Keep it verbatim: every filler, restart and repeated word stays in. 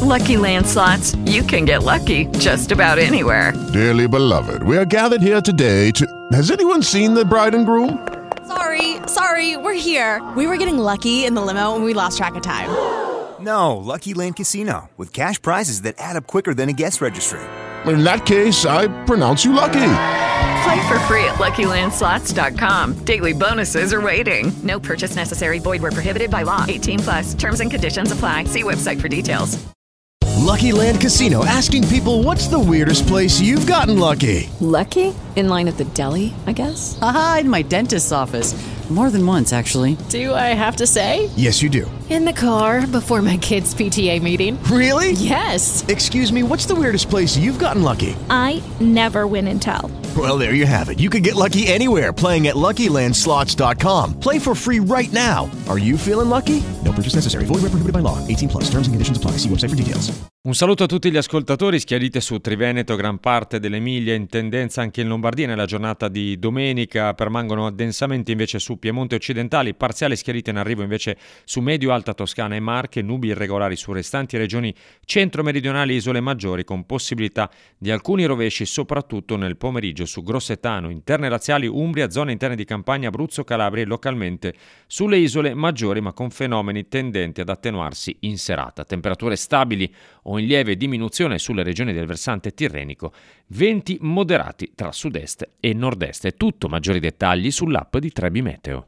Lucky Land Slots, you can get lucky just about anywhere. Dearly beloved, we are gathered here today to... Has anyone seen the bride and groom? Sorry, sorry, we're here. We were getting lucky in the limo and we lost track of time. No, Lucky Land Casino, with cash prizes that add up quicker than a guest registry. In that case, I pronounce you lucky. Play for free at Lucky Land Slots dot com. Daily bonuses are waiting. No purchase necessary. Void where prohibited by law. eighteen plus. Terms and conditions apply. See website for details. Lucky Land Casino, asking people, what's the weirdest place you've gotten lucky? Lucky? In line at the deli, I guess? Aha, in my dentist's office. More than once, actually. Do I have to say? Yes, you do. In the car before my kids' P T A meeting. Really? Yes. Excuse me, what's the weirdest place you've gotten lucky? I never win and tell. Well, there you have it. You can get lucky anywhere, playing at Lucky Land Slots dot com. Play for free right now. Are you feeling lucky? No purchase necessary. Void where prohibited by law. eighteen plus. Terms and conditions apply. See website for details. Un saluto a tutti gli ascoltatori schiariti su Triveneto, gran parte dell'Emilia, in tendenza anche in Lombardia nella giornata di domenica. Permangono addensamenti invece su Piemonte occidentali, parziale schiarita in arrivo invece su medio-alta Toscana e Marche, nubi irregolari su restanti regioni centro-meridionali e isole maggiori, con possibilità di alcuni rovesci soprattutto nel pomeriggio su Grossetano, interne laziali, Umbria, zone interne di Campania, Abruzzo, Calabria e localmente sulle isole maggiori, ma con fenomeni tendenti ad attenuarsi in serata. Temperature stabili o in lieve diminuzione sulle regioni del versante tirrenico, venti moderati tra sud-est e nord-est. È tutto, maggiori dettagli sull'app di Trebi Meteo.